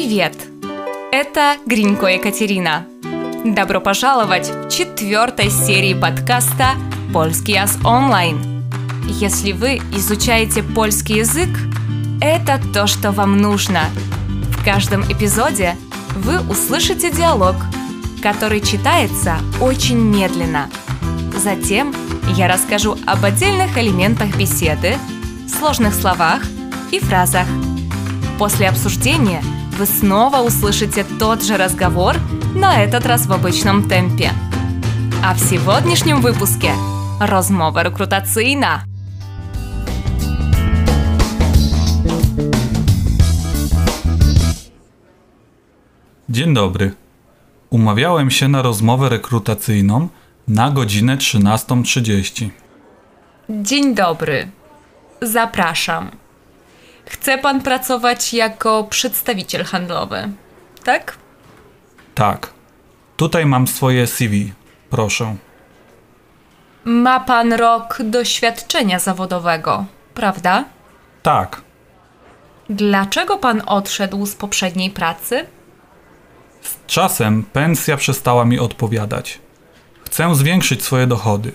Привет! Это Гринько Екатерина. Добро пожаловать в 4-й серии подкаста «Польский ас онлайн». Если вы изучаете польский язык, это то, что вам нужно. В каждом эпизоде вы услышите диалог, который читается очень медленно. Затем я расскажу об отдельных элементах беседы, сложных словах и фразах. После обсуждения вы снова услышите тот же разговор, на этот раз в обычном темпе. А в сегодняшнем выпуске розмова рекрутаційна. Dzień dobry. Umawiałem się na rozmowę rekrutacyjną na godzinę 13:30. Dzień dobry. Zapraszam. Chce pan pracować jako przedstawiciel handlowy, tak? Tak. Tutaj mam swoje CV. Proszę. Ma pan rok doświadczenia zawodowego, prawda? Tak. Dlaczego pan odszedł z poprzedniej pracy? Z czasem pensja przestała mi odpowiadać. Chcę zwiększyć swoje dochody.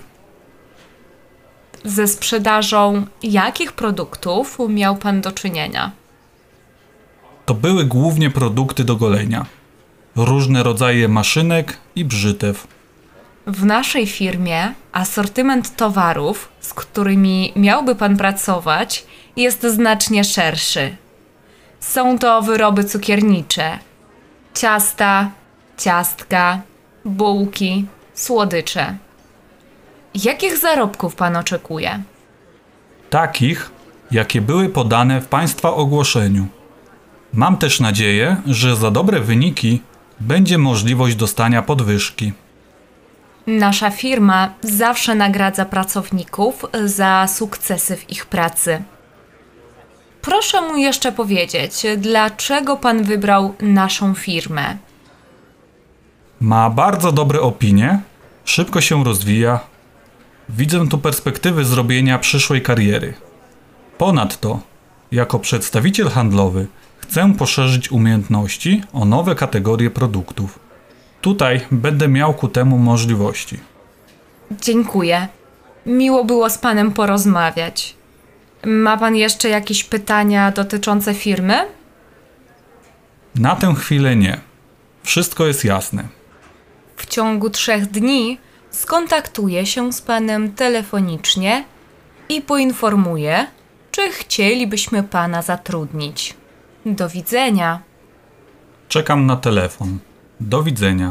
Ze sprzedażą jakich produktów miał pan do czynienia? To były głównie produkty do golenia. Różne rodzaje maszynek i brzytew. W naszej firmie asortyment towarów, z którymi miałby pan pracować, jest znacznie szerszy. Są to wyroby cukiernicze, ciasta, ciastka, bułki, słodycze. Jakich zarobków pan oczekuje? Takich, jakie były podane w Państwa ogłoszeniu. Mam też nadzieję, że za dobre wyniki będzie możliwość dostania podwyżki. Nasza firma zawsze nagradza pracowników za sukcesy w ich pracy. Proszę mu jeszcze powiedzieć, dlaczego pan wybrał naszą firmę? Ma bardzo dobre opinie, szybko się rozwija. Widzę tu perspektywy zrobienia przyszłej kariery. Ponadto, jako przedstawiciel handlowy, chcę poszerzyć umiejętności o nowe kategorie produktów. Tutaj będę miał ku temu możliwości. Dziękuję. Miło było z panem porozmawiać. Ma pan jeszcze jakieś pytania dotyczące firmy? Na tę chwilę nie. Wszystko jest jasne. W ciągu 3 dni skontaktuję się z panem telefonicznie i poinformuję, czy chcielibyśmy pana zatrudnić. Do widzenia. Czekam na telefon. Do widzenia.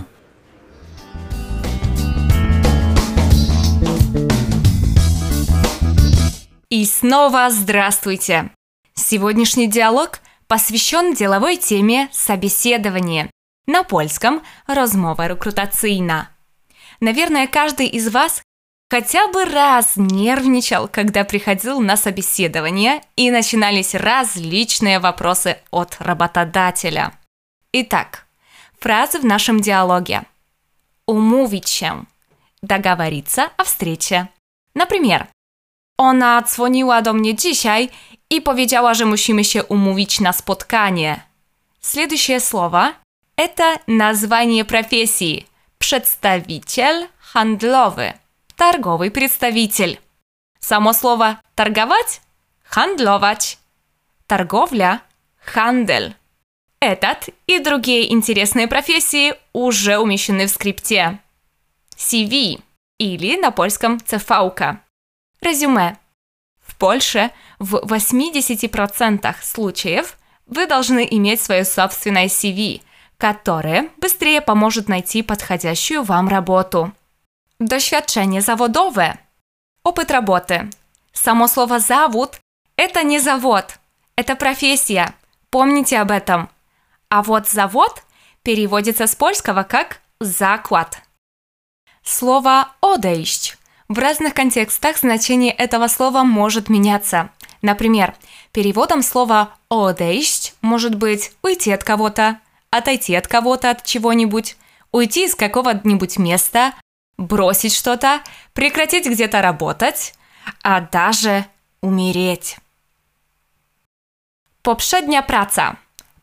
И снова здравствуйте! Сегодняшний диалог посвящен деловой теме собеседования. На польском «розмова рекрутаційна». Наверное, каждый из вас хотя бы раз нервничал, когда приходил на собеседование и начинались различные вопросы от работодателя. Итак, фразы в нашем диалоге. Umówić się. Doговориться о встрече. Например, ona dzwoniła do mnie dzisiaj i powiedziała, że musimy się umówić na spotkanie. Следующее слово – это название профессии. Przedstawiciel handlowy. Торговый представитель. Само слово торговать – handlować. Торговля – handel. Этот и другие интересные профессии уже умещены в скрипте. CV или на польском CV-ка. Резюме. В Польше в 80% случаев вы должны иметь свое собственное CV, которое быстрее поможет найти подходящую вам работу. Doświadczenie zawodowe. Опыт работы. Само слово «завод» – это не завод, это профессия. Помните об этом. А вот «завод» переводится с польского как «заклад». Слово «odejść». В разных контекстах значение этого слова может меняться. Например, переводом слова «odejść» может быть «уйти от кого-то», «отойти от кого-то, от чего-нибудь», «уйти из какого-нибудь места», «бросить что-то», «прекратить где-то работать», а даже «умереть». Poprzednia praca.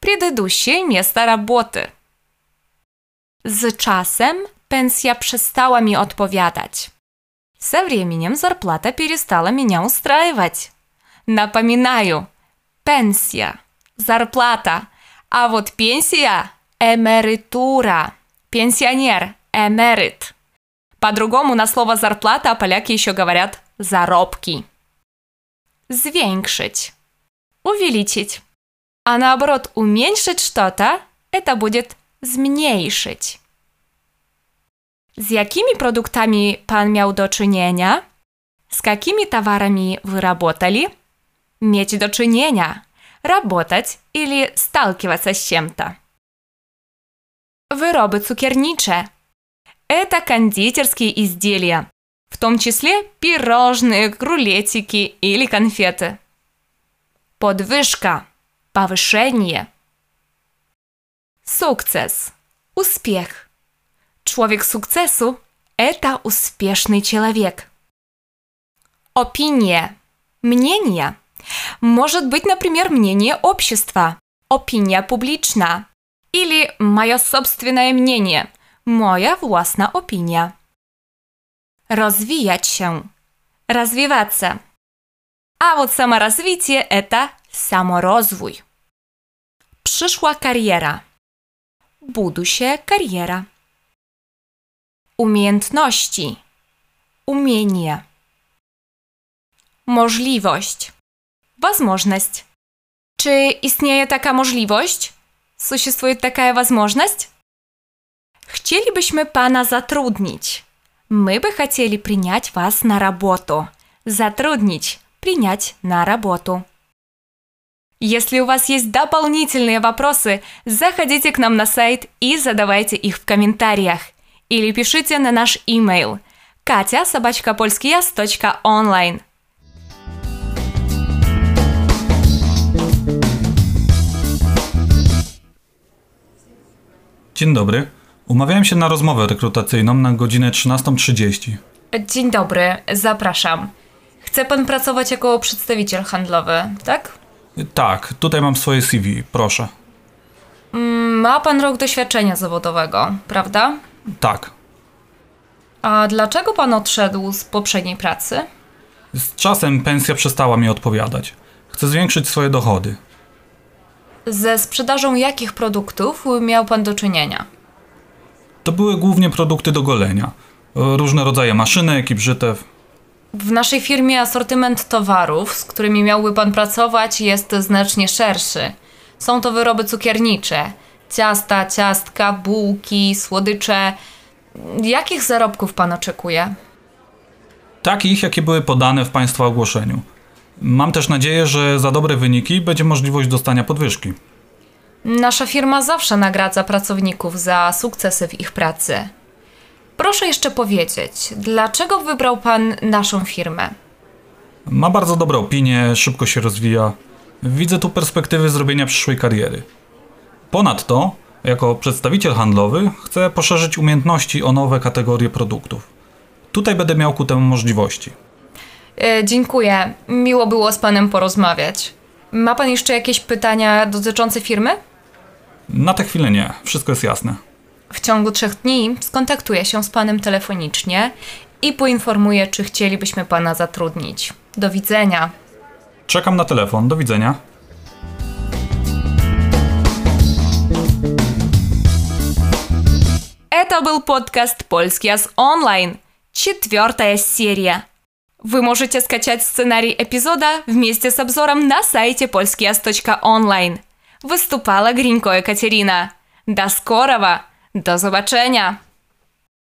предыдущее место работы. Z czasem pensja przestała mi odpowiadać. Со временем зарплата перестала меня устраивать. Напоминаю, pensja, зарплата, а вот пенсия – эмеритура. Пенсионер – эмерит. По-другому на слово «зарплата» поляки еще говорят «заробки». Zwiększyć – увеличить. А наоборот, уменьшить что-то – это будет zmniejszyć. Z jakimi produktami pan miał do czynienia? Z jakimi towarami wy работали? Mieć do czynienia. Работать или сталкиваться с чем-то. Wyroby cukiernicze. Это кондитерские изделия, в том числе пирожные, рулетики или конфеты. Podwyżka. Повышение. Sukces. Успех. Człowiek sukcesu – это успешный человек. Opinie. Мнение. Может быть, например, мнение общества. Opinia publiczna. Или мое собственное мнение. Moja własna opinia. Rozwijać się. Развиваться. А вот саморазвитие – это саморозвój. Przyszła kariera. Будущая карьера. Umiejętności. Умение. Możliwość. Возможность. Czy istnieje taka możliwość? Существует такая возможность? Chcielibyśmy pana zatrudnić. Мы бы хотели принять вас на работу. Затруднить. Принять на работу. Если у вас есть дополнительные вопросы, заходите к нам на сайт и задавайте их в комментариях. Или пишите на наш email katia@polskijaz.online. Dzień dobry. Umawiałem się na rozmowę rekrutacyjną na godzinę 13:30. Dzień dobry, zapraszam. Chce pan pracować jako przedstawiciel handlowy, tak? Tak, tutaj mam swoje CV, proszę. Ma pan rok doświadczenia zawodowego, prawda? Tak. A dlaczego pan odszedł z poprzedniej pracy? Z czasem pensja przestała mi odpowiadać. Chcę zwiększyć swoje dochody. Ze sprzedażą jakich produktów miał pan do czynienia? To były głównie produkty do golenia. Różne rodzaje maszynek i brzytew. W naszej firmie asortyment towarów, z którymi miałby pan pracować, jest znacznie szerszy. Są to wyroby cukiernicze. Ciasta, ciastka, bułki, słodycze. Jakich zarobków pan oczekuje? Takich, jakie były podane w państwa ogłoszeniu. Mam też nadzieję, że za dobre wyniki będzie możliwość dostania podwyżki. Nasza firma zawsze nagradza pracowników za sukcesy w ich pracy. Proszę jeszcze powiedzieć, dlaczego wybrał pan naszą firmę? Ma bardzo dobre opinie, szybko się rozwija. Widzę tu perspektywy zrobienia przyszłej kariery. Ponadto, jako przedstawiciel handlowy, chcę poszerzyć umiejętności o nowe kategorie produktów. Tutaj będę miał ku temu możliwości. Dziękuję. Miło było z panem porozmawiać. Ma pan jeszcze jakieś pytania dotyczące firmy? Na tę chwilę nie. Wszystko jest jasne. W ciągu 3 dni skontaktuję się z panem telefonicznie i poinformuję, czy chcielibyśmy pana zatrudnić. Do widzenia. Czekam na telefon. Do widzenia. Это был подкаст «Польскияз онлайн», 4-я серия. Вы можете скачать сценарий эпизода вместе с обзором на сайте polskijaz.online. Выступала Гринько Екатерина. До скорого! До zobaczenia!